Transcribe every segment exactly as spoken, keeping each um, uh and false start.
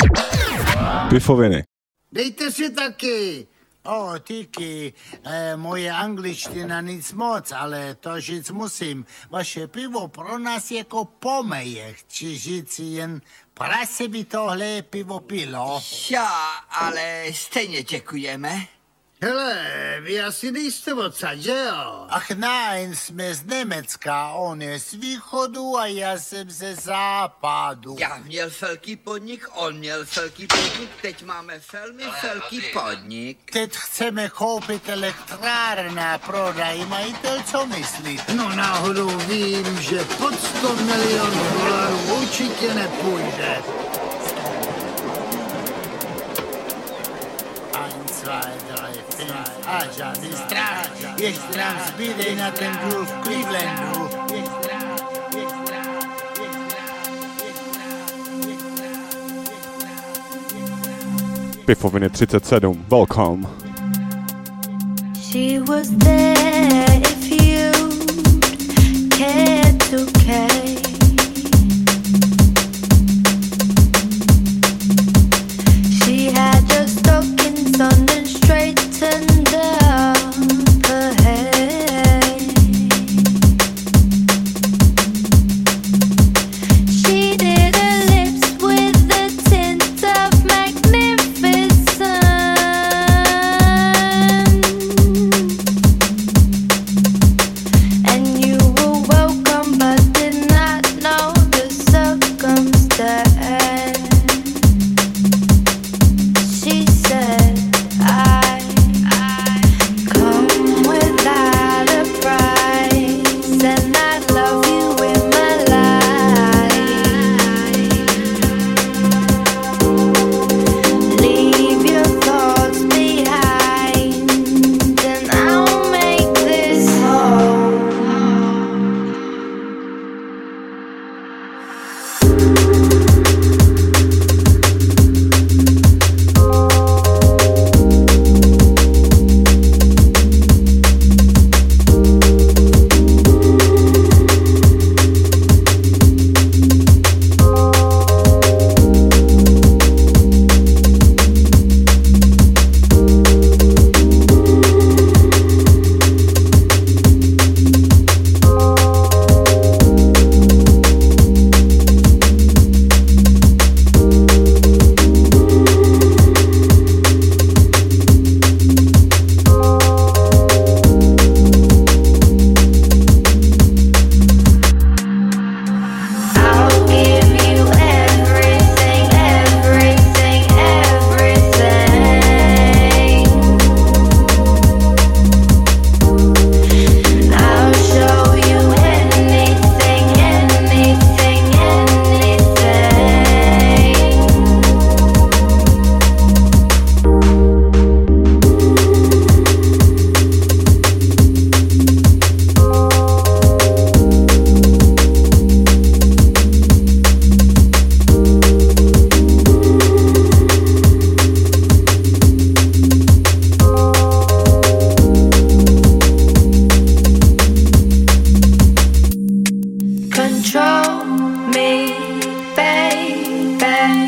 Pifoviny. Dejte si taky. O, díky. E, moje angličtina nic moc, ale to říct musím. Vaše pivo pro nás jako pomeje. Chci říct jen, prase by tohle pivo pilo. Ja, ale stejně děkujeme. Hele, vy asi nejste odsaď, že jo? Ach nein, jsme z Německa, on je z východu a já jsem ze západu. Já měl velký podnik, on měl velký podnik, teď máme velmi velký podnik. Teď chceme koupit elektrárna a prodaj majitel, co myslí? No náhodou vím, že pod sto milionů dolarů určitě nepůjde. A žádný strach, ještě nám zbyde na ten důl v Clevelandu. Pifoviny třicet sedm, welcome. She was there if you cared to care. She had your stockings on and straightened up her hair. She did her lips with the tint of magnificence. And you were welcome but did not know the circumstance. She said, I, I come without a price, and I love you in my life. Leave your thoughts behind, and I'll make this home. I'll give you everything, everything, everything. I'll show you anything, anything, control me, baby.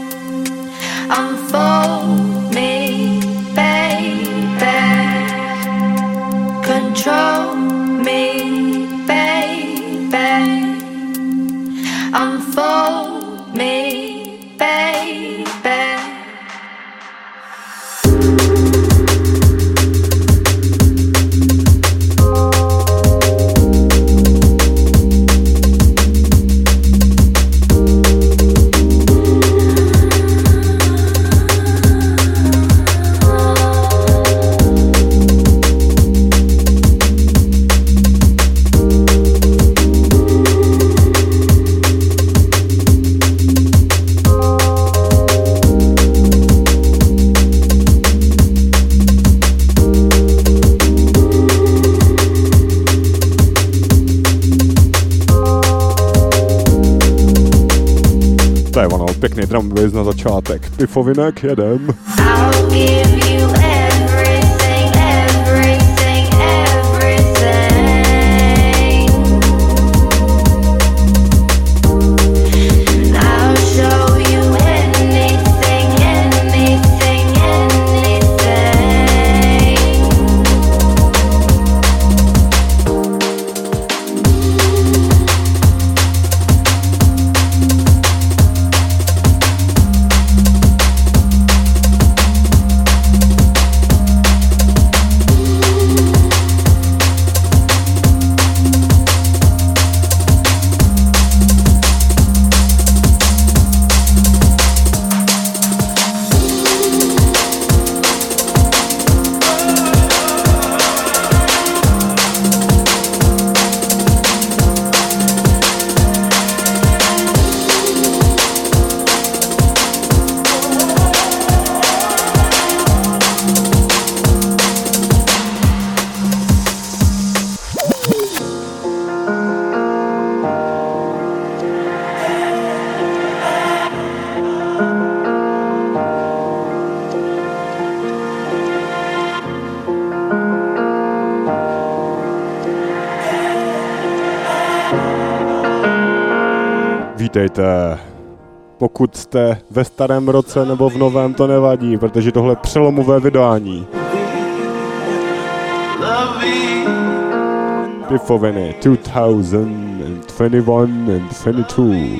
Unfold me, baby. Control me, baby. Unfold me, baby. To je ono, pěkný drum bass na začátek. Pifovinek, jedem. I'll give you everything, everything, everything. I'll show you anything. Vítejte. Pokud jste ve starém roce nebo v novém, to nevadí, protože tohle je přelomové vydání. Pifoviny two thousand twenty-one and twenty-two.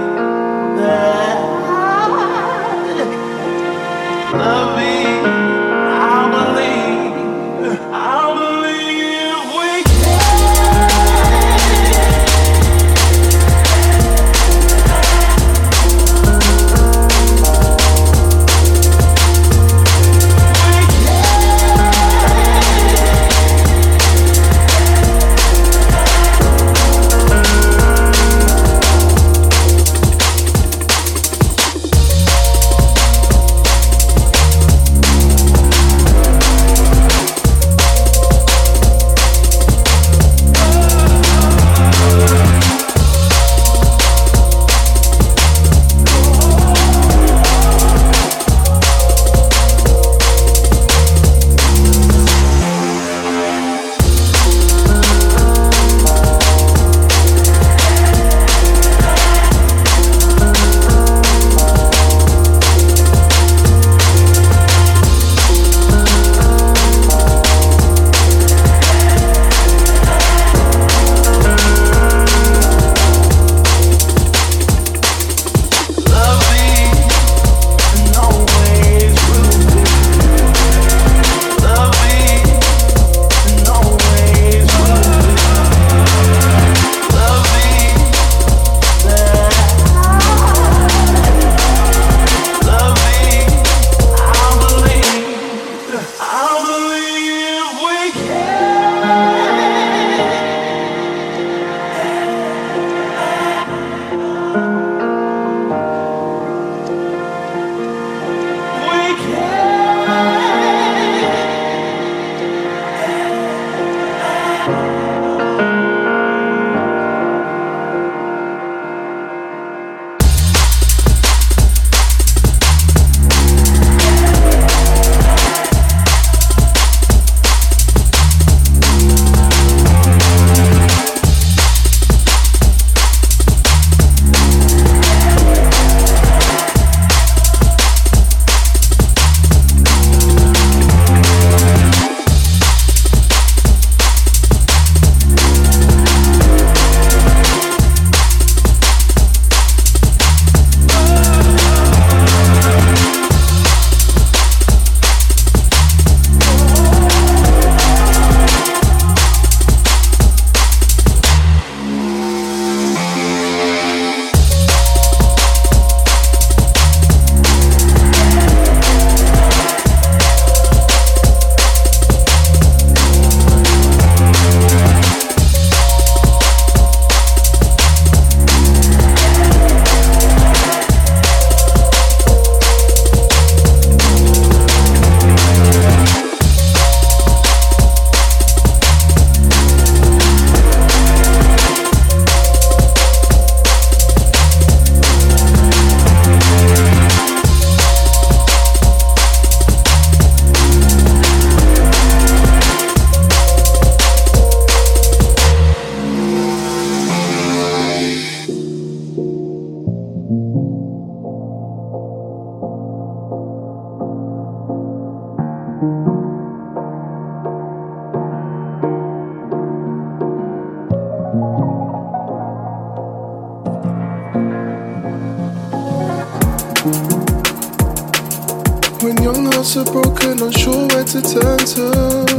When young hearts are broken, unsure where to turn to.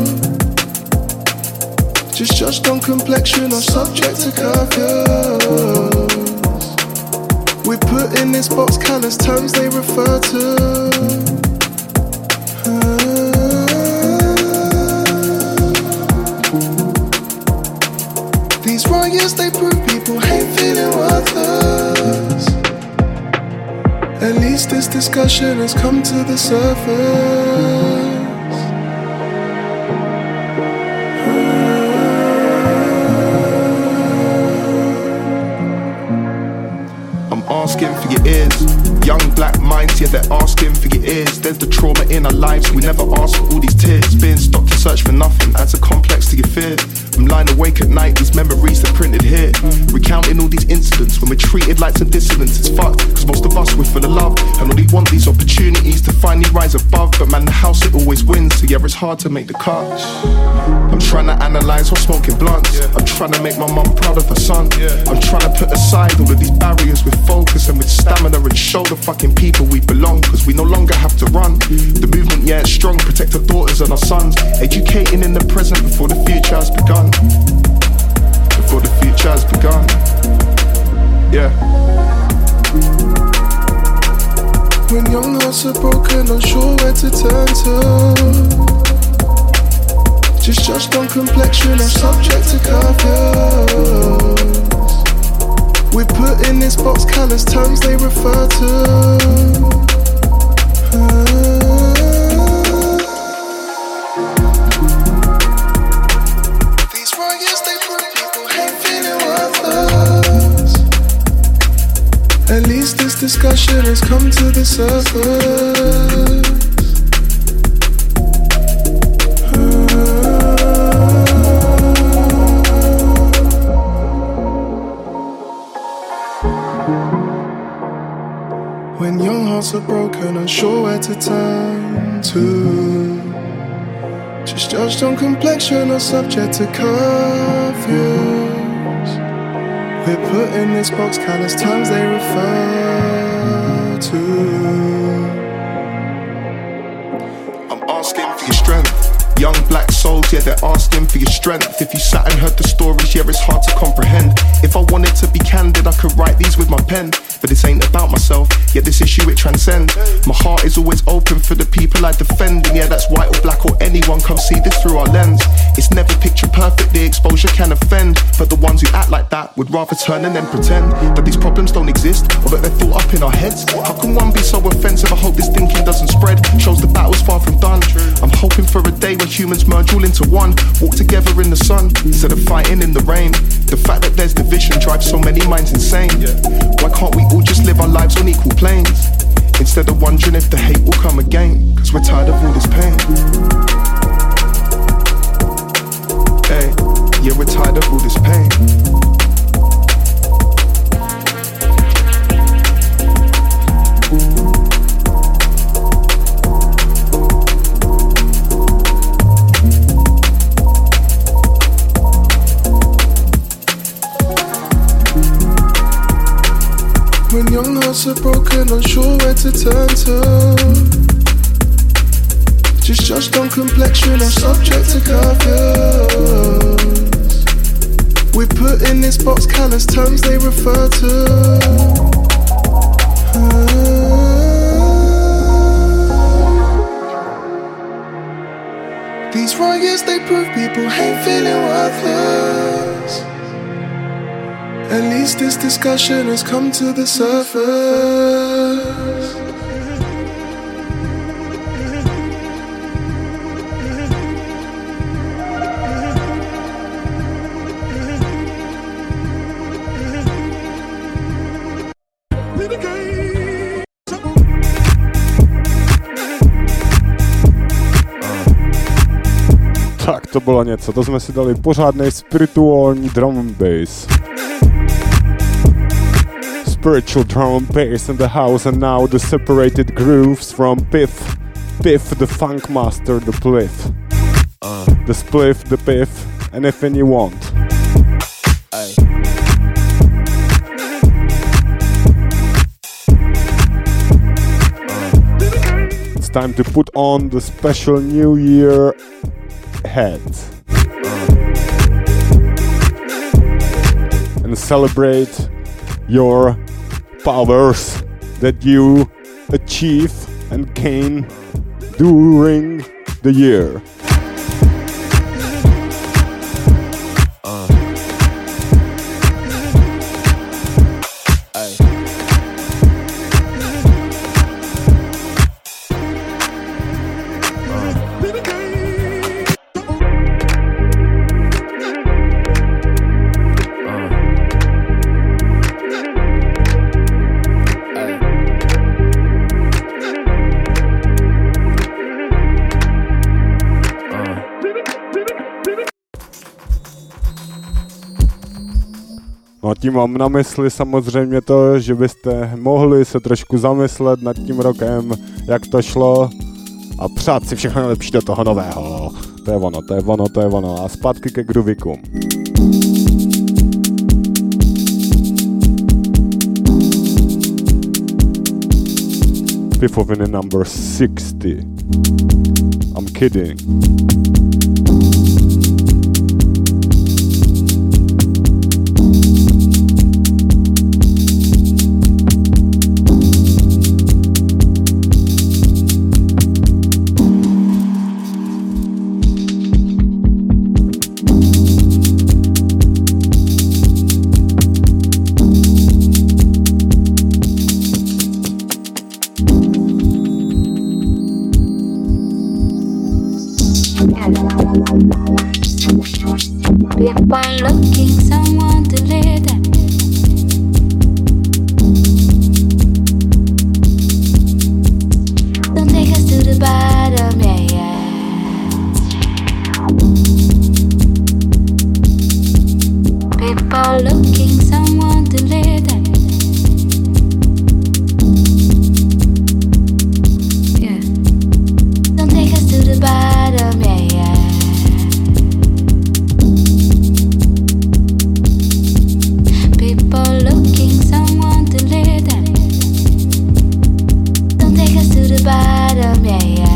Just judged on complexion or subject to curfews. We put in this box callous terms they refer to. These riots, they prove people hate feeling worthless. At least this discussion has come to the surface. I'm asking for your ears. Young black minds, yeah, they're asking for your ears. There's the trauma in our lives, we never ask for all these tears. Being stopped to search for nothing adds a complex to your fear. I'm lying awake at night, these memories are printed here. Recounting all these incidents when we're treated like some dissidents. It's fucked, cause most of us we're full of love and only want these opportunities to finally rise above. But man, the house it always wins, so yeah, it's hard to make the cut. I'm trying to analyse what's smoking blunts. I'm trying to make my mum proud of her son. I'm trying to put aside all of these barriers with focus and with stamina and show the fucking people we belong, cause we no longer have to run. The movement, yeah, it's strong, protect our daughters and our sons. Educating in the present before the future has begun. Before the future has begun. Yeah. When young hearts are broken, unsure where to turn to. Just judged on complexion or subject to curfews. We put in this box callous terms they refer to. uh, These riots they put people hate feeling worthless. At least this discussion has come to the surface. When young hearts are broken, unsure where to turn to. Just judged on complexion or subject to curfews. We're put in this box, callous terms they refer to. I'm asking for your strength. Young black souls, yeah, they're asking for your strength. If you sat and heard the stories, yeah, it's hard to comprehend. If I wanted to be candid, I could write these with my pen. But this ain't about myself, yet this issue it transcends. My heart is always open for the people I defend. And yeah, that's white or black or anyone, come see this through our lens. It's never picture perfect, the exposure can offend. But the ones who act like that would rather turn and then pretend that these problems don't exist, or that they're thought up in our heads. How can one be so offensive? I hope this thinking doesn't spread. Shows the battle's far from done. I'm hoping for a day when humans merge all into one. Walk together in the sun, instead of fighting in the rain. The fact that there's division drives so many minds insane. Why can't we all just live our lives on equal planes, instead of wondering if the hate will come again? Cause we're tired of all this pain. Hey, yeah, we're tired of all this pain. When young hearts are broken, unsure where to turn to. Just judged on complexion or subject to curfews. We put in this box callous terms they refer to. uh, These riots they prove people hate feeling worthless. At least this discussion has come to the surface. Tak to bylo něco, to jsme si dali pořádnej spirituální drum and bass. Spiritual drum and bass in the house, and now the separated grooves from Piff. Piff, the funk master, the pliff. Uh. The spliff, the piff, anything you want. Aye. Uh. It's time to put on the special New Year hat. Uh. And celebrate your powers that you achieve and gain during the year. Uh. No tím mám na mysli samozřejmě to, že byste mohli se trošku zamyslet nad tím rokem, jak to šlo a přát si všechno nejlepší do toho nového. To je ono, to je ono, to je ono. A zpátky ke groovikům. Fifth of in number sixty. I'm kidding. People looking someone to lead them. Don't take us to the bottom, yeah, yeah. People looking someone to lead them. Yeah. Don't take us to the bottom, yeah, yeah. People looking someone to lead them. Don't take us to the bottom, yeah, yeah.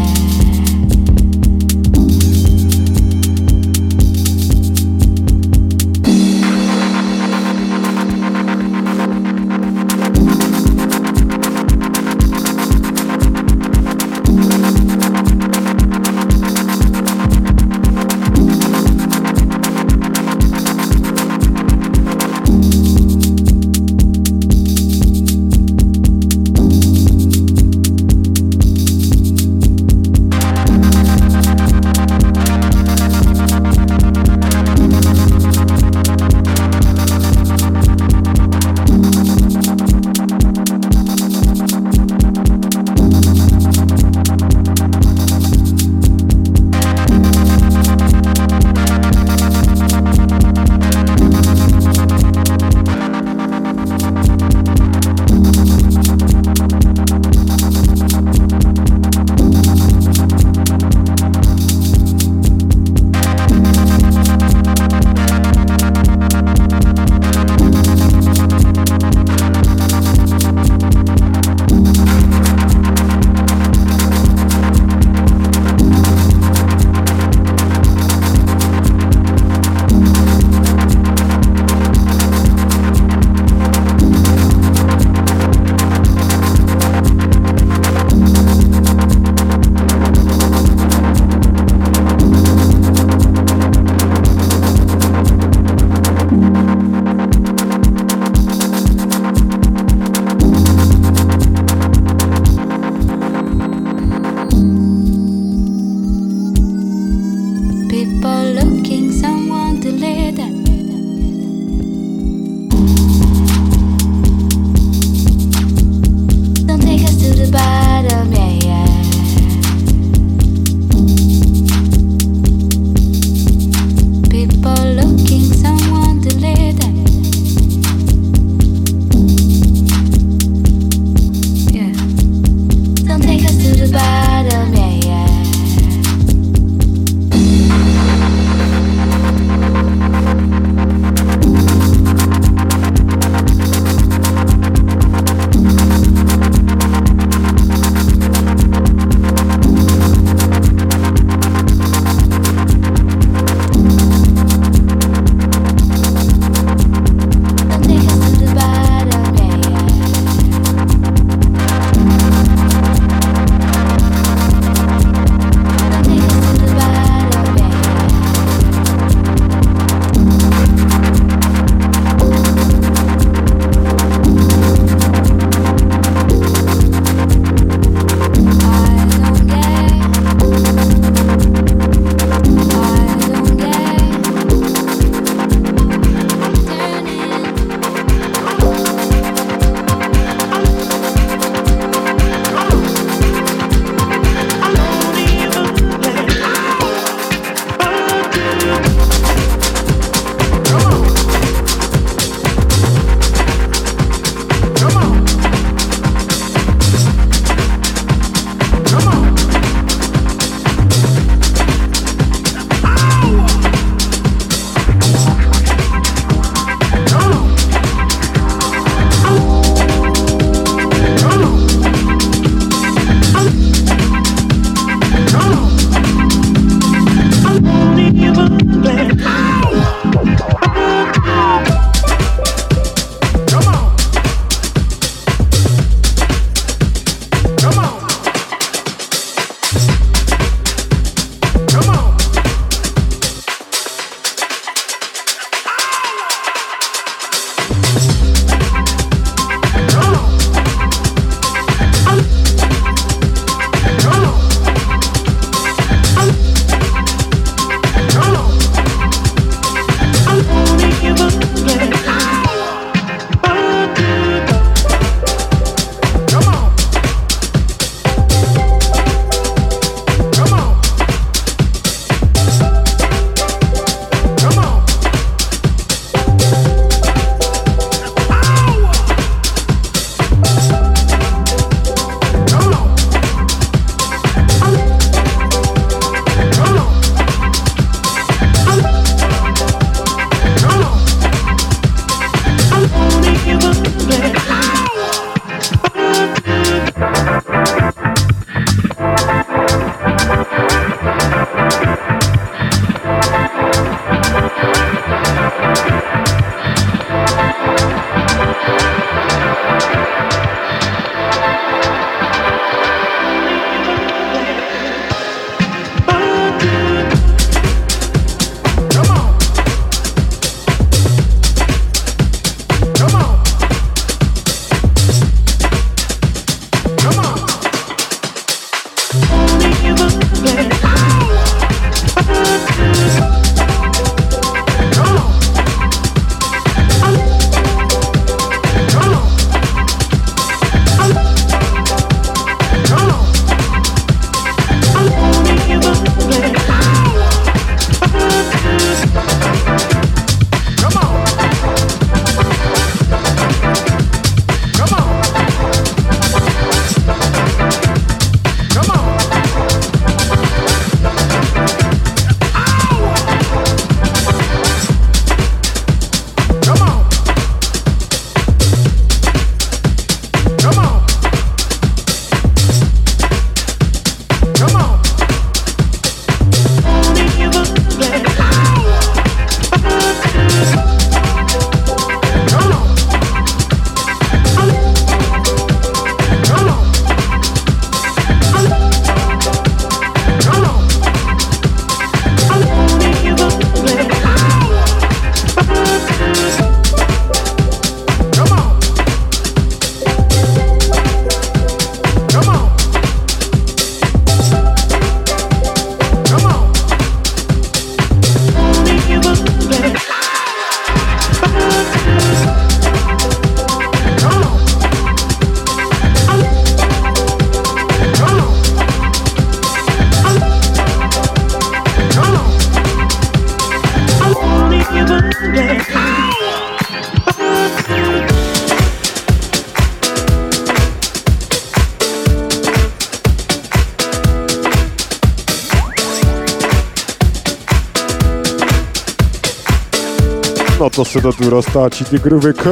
Na to se to tu roztáčí ty groovy.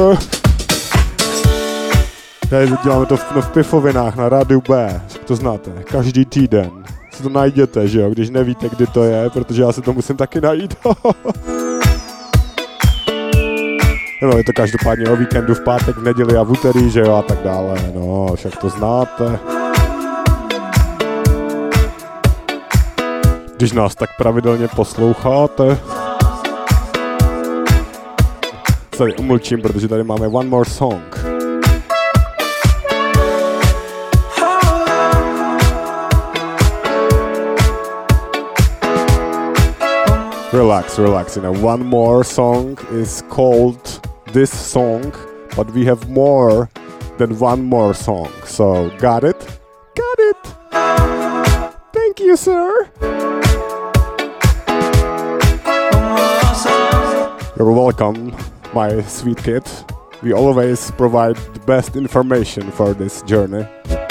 Tady děláme to v, no, v pifovinách na rádiu B, to znáte, každý týden. Si to najděte, že jo, když nevíte, kdy to je, protože já si to musím taky najít. No, je to každopádně o víkendu, v pátek, v neděli a v úterý, že jo, a tak dále, no, však to znáte. Když nás tak pravidelně posloucháte. Tady umlčím, protože tady máme One More Song. Relax, relax, you know, one more song is called this song, but we have more than one more song, so got it? Got it! Thank you, sir! You're welcome, my sweet kid. We always provide the best information for this journey.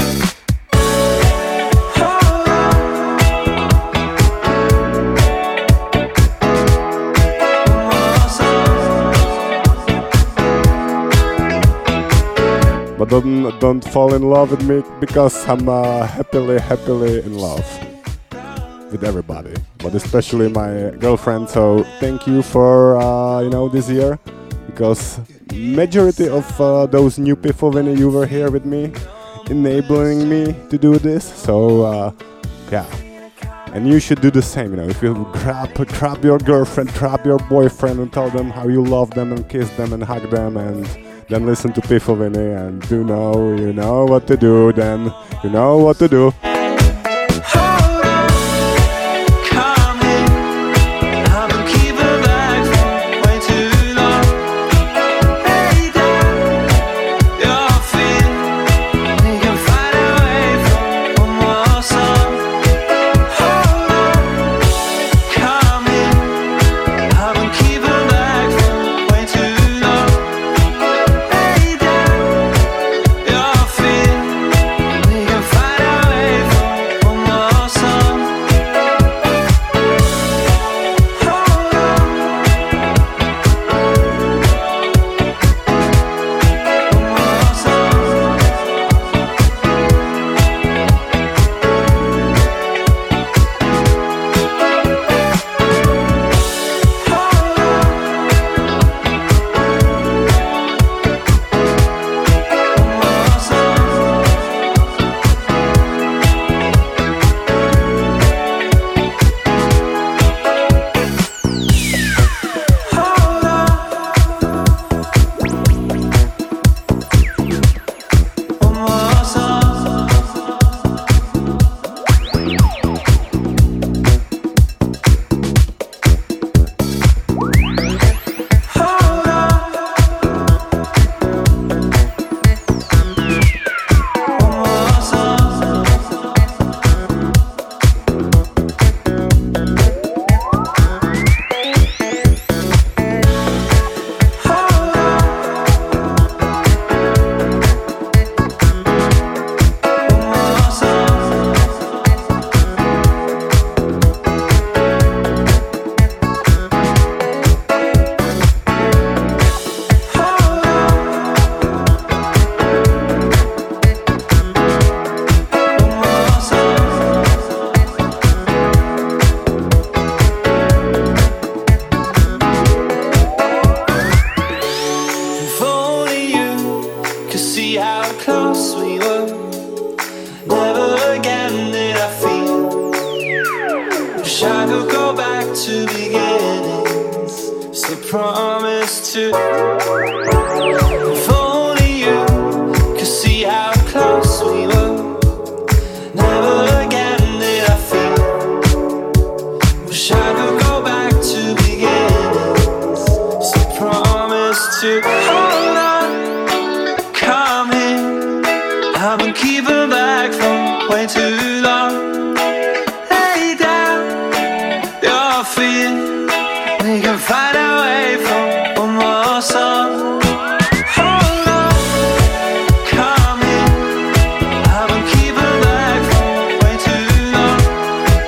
But don't, don't fall in love with me because I'm uh, happily, happily in love with everybody, but especially my girlfriend. So thank you for uh, you know this year, because majority of uh, those new people when you were here with me, enabling me to do this. So uh, yeah, and you should do the same. You know, if you grab grab your girlfriend, grab your boyfriend, and tell them how you love them and kiss them and hug them and. Then listen to Pifoviny and you know, you know what to do, then you know what to do.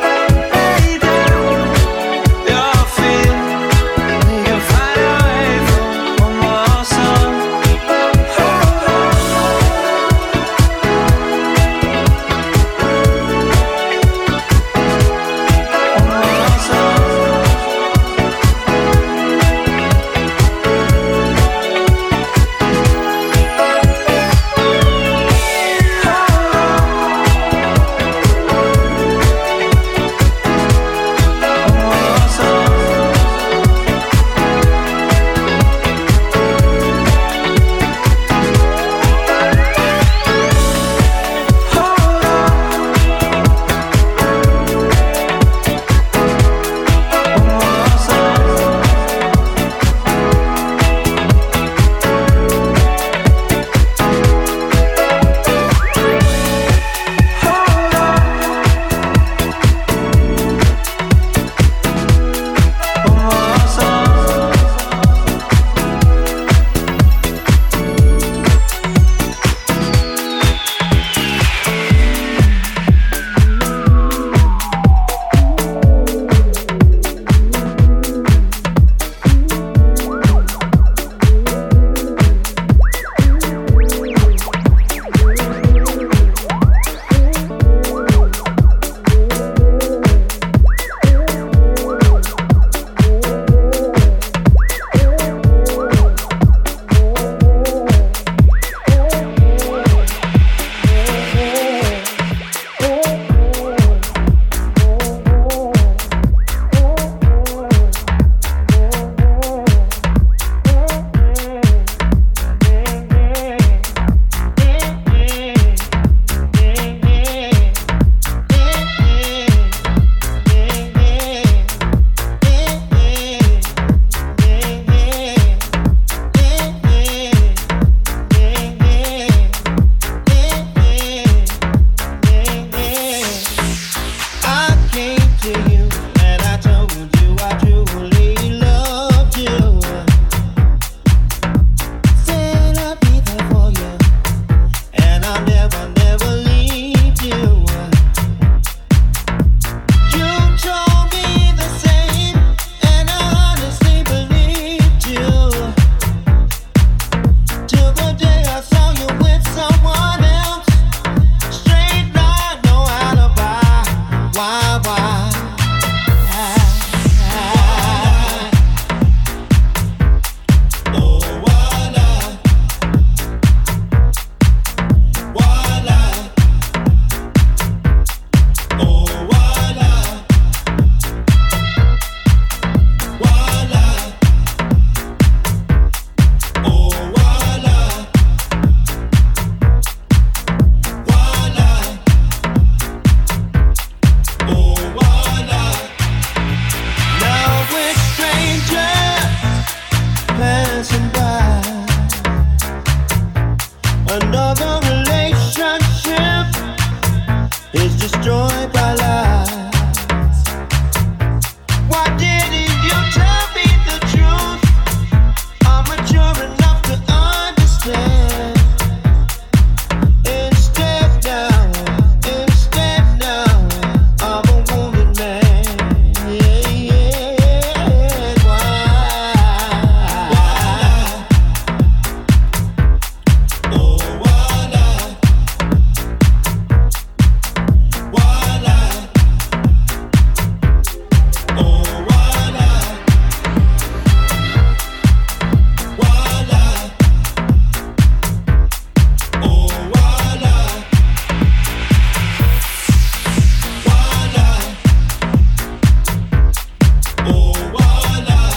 Away is destroyed by lies. Why didn't you tell me the truth? I'm mature enough to understand. Instead now, instead now, I'm a wounded man. Yeah, yeah. Why? Why? Oh, why not? Why not? Oh, why not? Why not? Oh, why not? Why not? Oh, why not?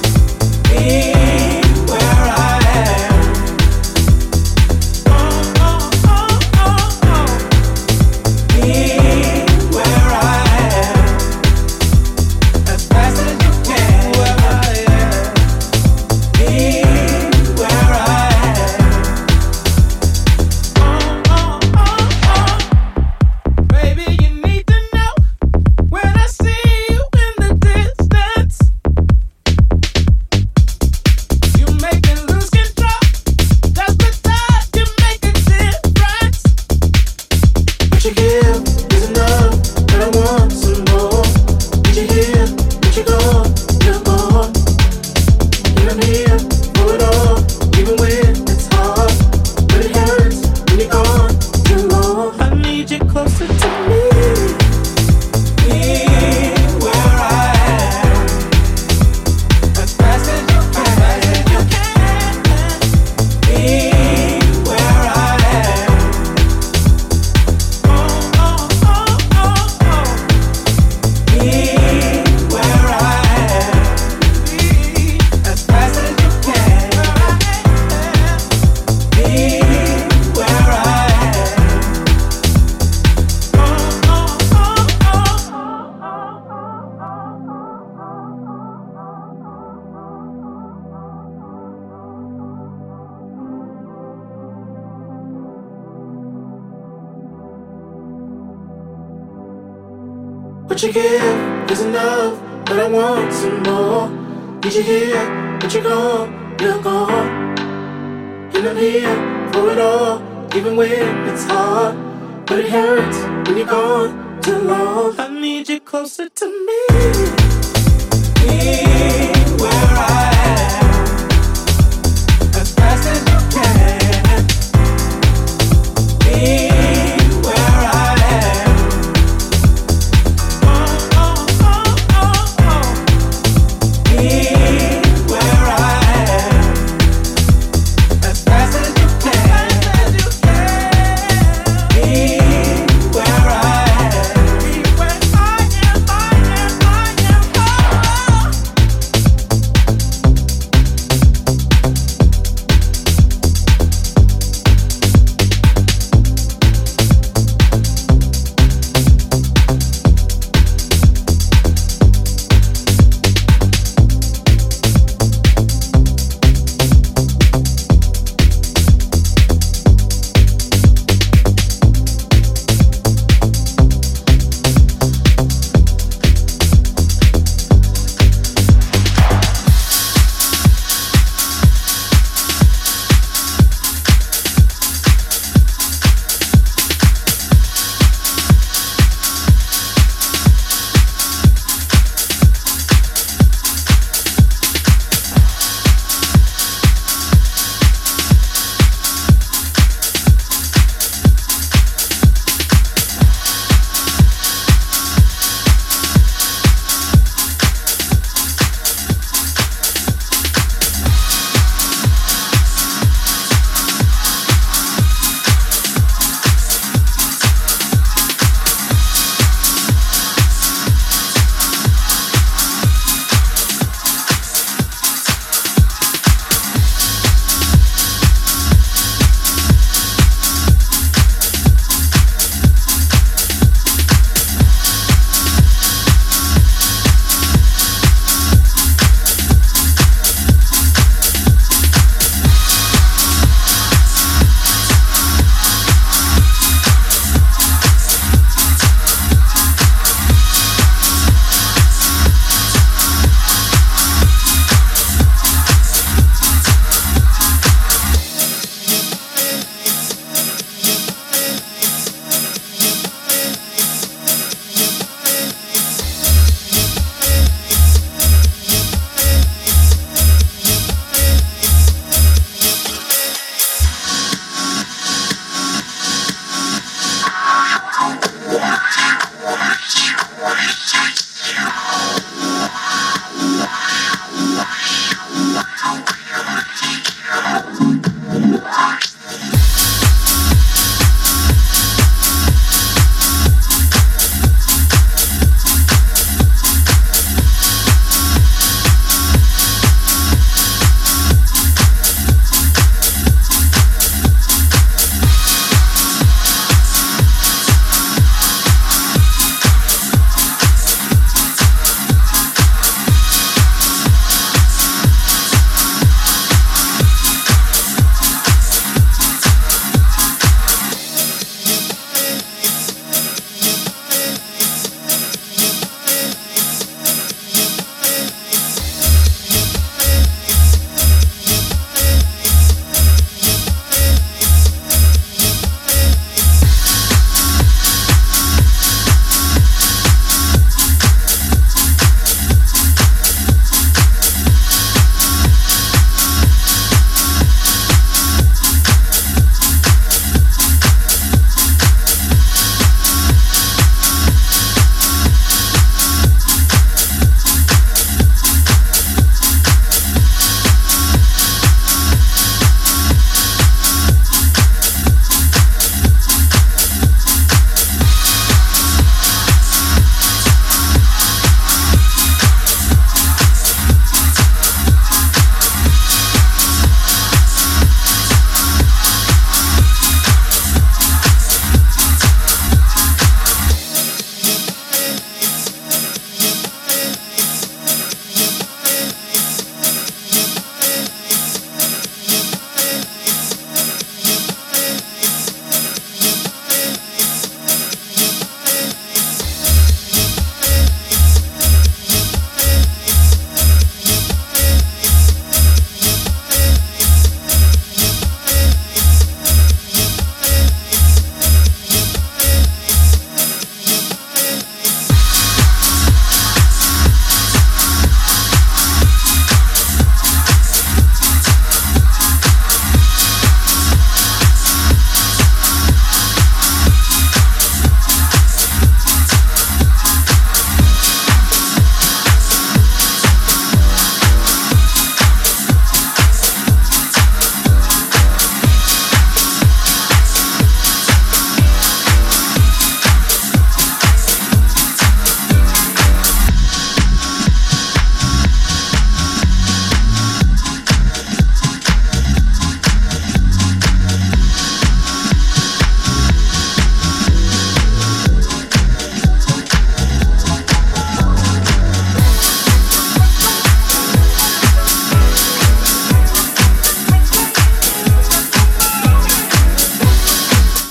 Oh, oh. What you give is enough, but I want some more. Need you here, but you're gone, you're gone. And I'm here for it all, even when it's hard. But it hurts when you're gone too long. I need you closer to me. Be where I am, as fast as you can. Be where I am. Oh, oh, oh, oh, oh. Be where I am, as fast as you can. Be where I am. Be where I am, I am, I am. Oh.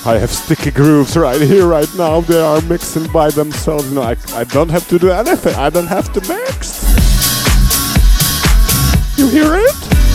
I have sticky grooves right here, right now. They are mixing by themselves. No, I, I don't have to do anything. I don't have to mix. You hear it?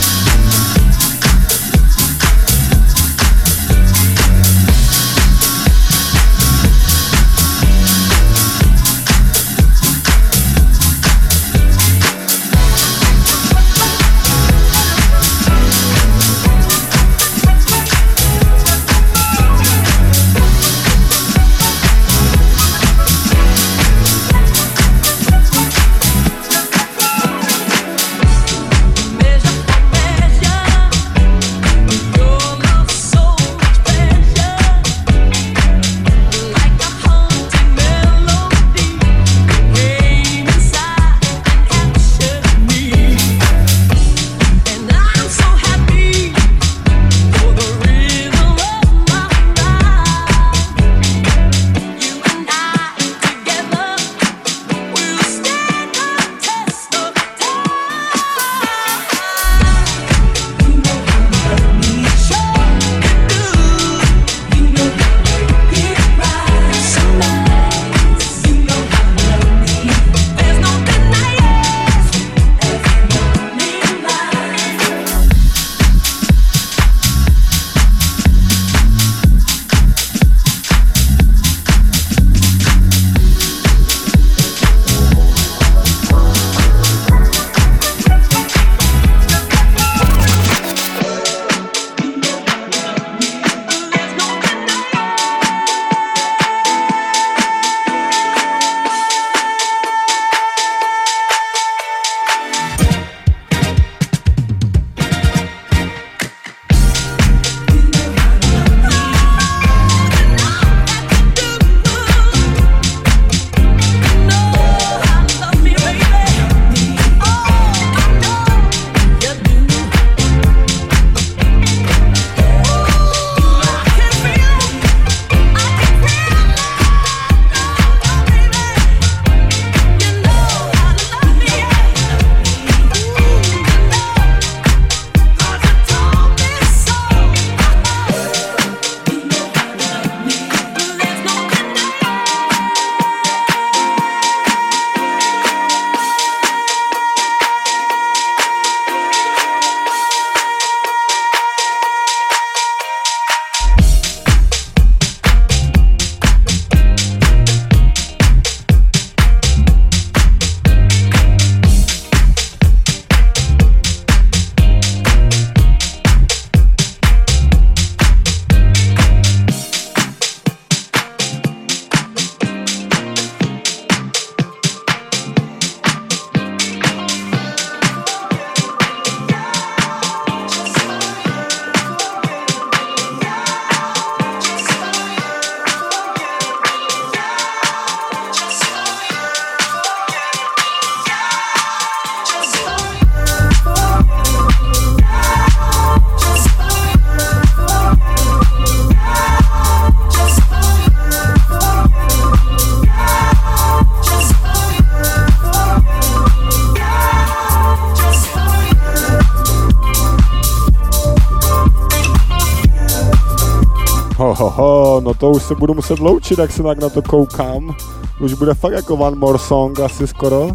Ho, ho, ho, no to už se budu muset loučit, jak se tak na to koukám. Už bude fakt jako one more song asi skoro.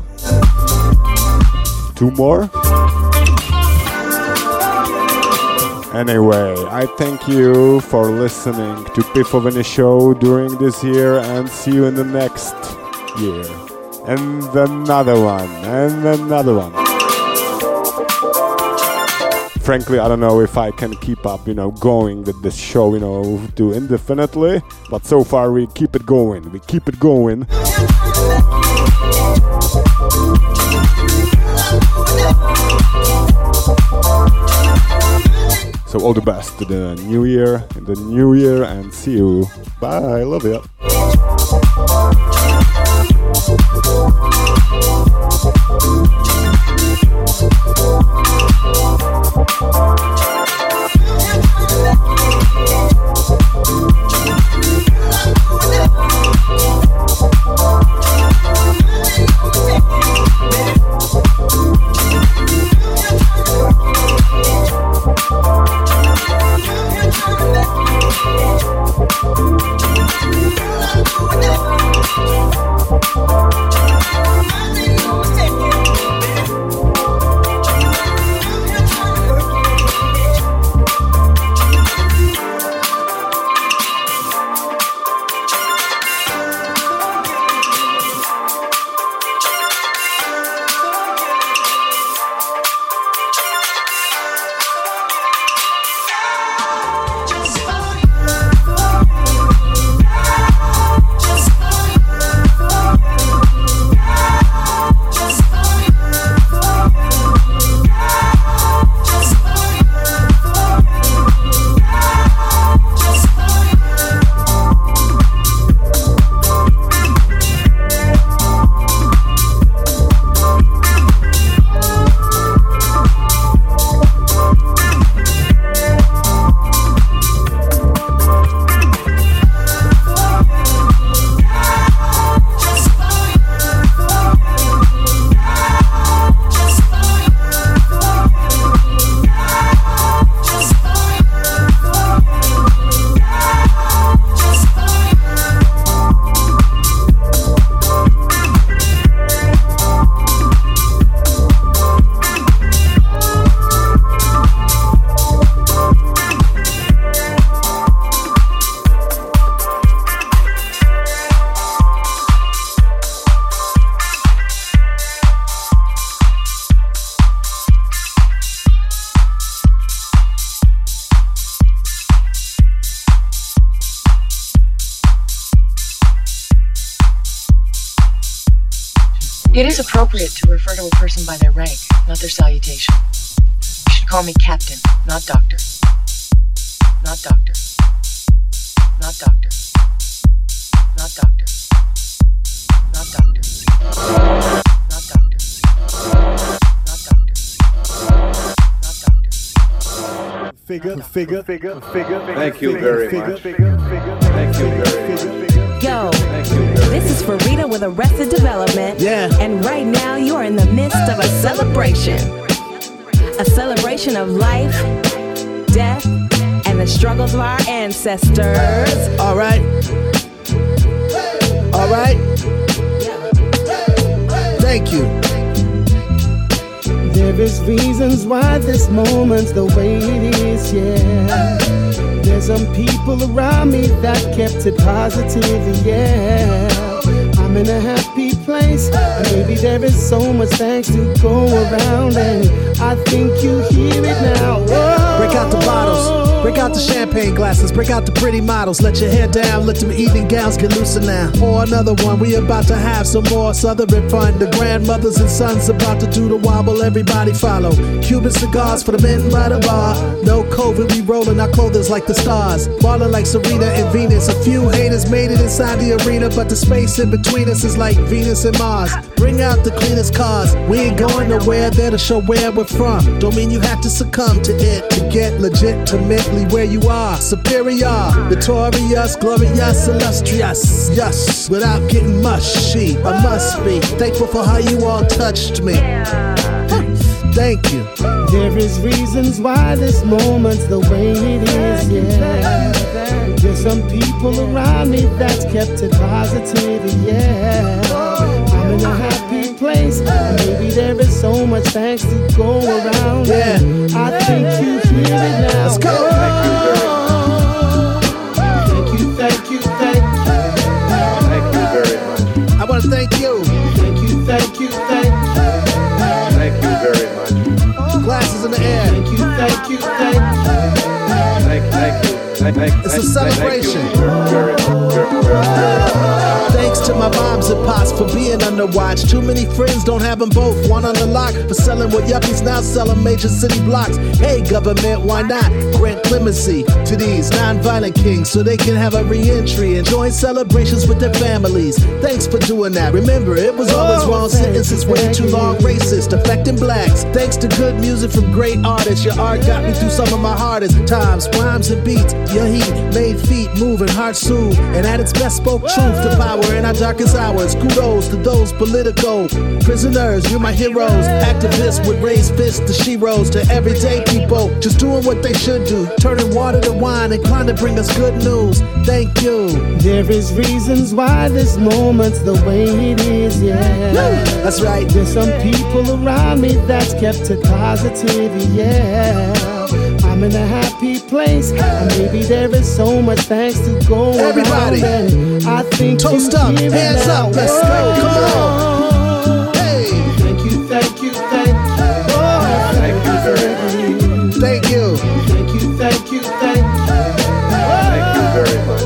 Two more? Anyway, I thank you for listening to Pifoviny Show during this year and see you in the next year. And another one, and another one. Frankly, I don't know if I can keep up, you know, going with this show, you know, to indefinitely. But so far we keep it going, we keep it going. So all the best to the new year, in the new year, and see you. Bye, love you. We'll be right back. It is appropriate to refer to a person by their rank, not their salutation. You should call me Captain, not Doctor. Not Doctor. Not Doctor. Not Doctor. Not Doctor. Not Doctor. Not Doctor. Not Doctor. Figure, figure, figure, figure. Thank you very much. Thank you very much. Yo, this is Farida with Arrested Development. Yeah. And right now you are in the midst of a celebration. A celebration of life, death, and the struggles of our ancestors. All right. All right. Thank you. There is reasons why this moment's the way it is, yeah. There's some people around me that kept it positive, yeah. I'm in a happy place, and maybe there is so much thanks to go around, and I think you hear it now. Whoa. Break out the bottles, break out the champagne glasses, break out the pretty models. Let your hair down, let them evening gowns get looser now. Pour another one, we about to have some more Southern fun. The grandmothers and sons about to do the wobble, everybody follow. Cuban cigars for the men by the bar. No COVID, we rolling our clothing like the stars. Ballin' like Serena and Venus. A few haters made it inside the arena, but the space in between us is like Venus and Mars. Bring out the cleanest cars, we ain't going nowhere, there to show where we're from. Don't mean you have to succumb to it to get legitimately where you are. Superior, victorious, glorious, illustrious. Yes, without getting mushy, I must be thankful for how you all touched me. Thank you. There is reasons why this moment's the way it is, yeah. There's some people around me that's kept it positive, yeah. I'm in a happy place, and maybe there is so much thanks to go around. Yeah. I think you hear it now. Let's go. Thank you, thank you, thank you. Thank you very much. I want to thank you. Thank you, thank you, thank you. Thank you very much. Glasses in the air. Thank you, thank you, thank you. Thank, thank you. Thank, thank, It's a thank, celebration. Thank you very much. Very, very, very. Thanks to my moms and pops for being under watch. Too many friends don't have them both. One on the lock for selling what yuppies now selling major city blocks. Hey government, why not grant clemency to these non-violent kings so they can have a re-entry and join celebrations with their families. Thanks for doing that. Remember, it was always wrong sentences way too long, racist, affecting blacks. Thanks to good music from great artists. Your art got me through some of my hardest times. Rhymes and beats, your heat made feet moving, heart soothed, and at its best spoke truth to power power in our darkest hours. Kudos to those political prisoners, you're my heroes. Activists with raised fists to sheroes. To everyday people, just doing what they should do. Turning water to wine and trying to bring us good news. Thank you. There is reasons why this moment's the way it is, yeah. That's right. There's some people around me that's kept it positive, yeah. I'm in a happy place, and maybe there is so much thanks to go Everybody, around. And I think toast you up, hear it hands now. up, let's go. Come on. Hey. Thank you, thank you, thank you. Oh, Thank you very much. Thank you. Thank you, thank you, thank you. Thank you very much.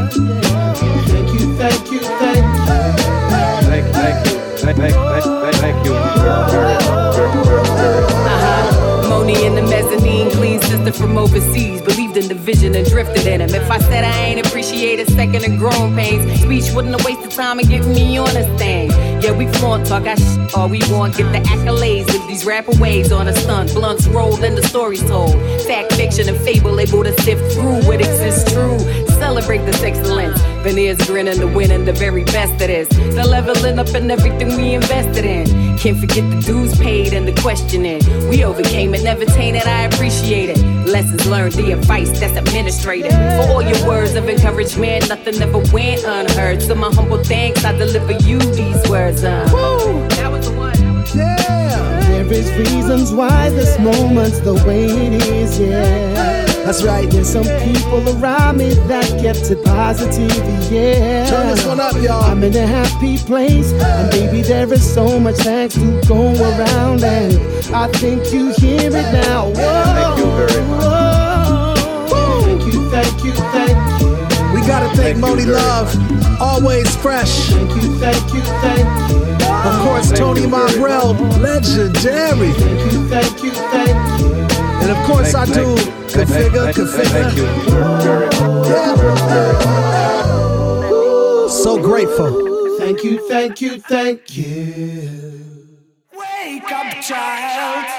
Thank you, thank you, thank you. Thank, thank you. Thank, thank, thank, thank you very, very much. Very, very, very much. Uh-huh. Moni in the mezzanine, clean sister from overseas. Believed in the vision and drifted in him. If I said I ain't appreciate a second of growing pains, speech wouldn't have wasted time and getting me on this thing. Yeah, we flaunt, talk our shit all we want. Get the accolades, live these rapper waves on a stunt. Blunts rolled and the stories told. Fact, fiction, and fable able to sift through what exists true. Celebrate this excellence. Veneers grinning, the winning, the very best of this. The leveling up in everything we invested in. Can't forget the dues paid and the questioning. We overcame it, never tainted, I appreciate it. Lessons learned, the advice that's administrated. For all your words of encouragement, nothing ever went unheard. So my humble thanks, I deliver you these words. Uh. Woo! That was the one. Yeah. There is reasons why this moment's the way it is, yeah. That's right. There's some people around me that kept it positive, yeah. Turn this one up, y'all. I'm in a happy place, and baby, there is so much thanks to go around, and I think you hear it now. Whoa, Thank you very much. whoa. Thank you, thank you, thank you. We gotta thank, thank Moni Love, much. Always fresh. Thank you, thank you, thank you. Of course, thank Tony Mongrel, legendary. Thank you, thank you, thank you. And of course, thank, I do configure, configure. Thank you very much. Yeah. So grateful. Thank you, thank you, thank you. Wake up, child.